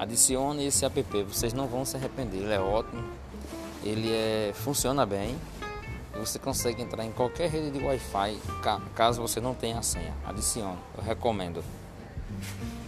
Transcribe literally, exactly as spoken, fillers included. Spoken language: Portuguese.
Adicione esse app, vocês não vão se arrepender, ele é ótimo, ele é, funciona bem e você consegue entrar em qualquer rede de Wi-Fi caso você não tenha a senha. Adicione, eu recomendo.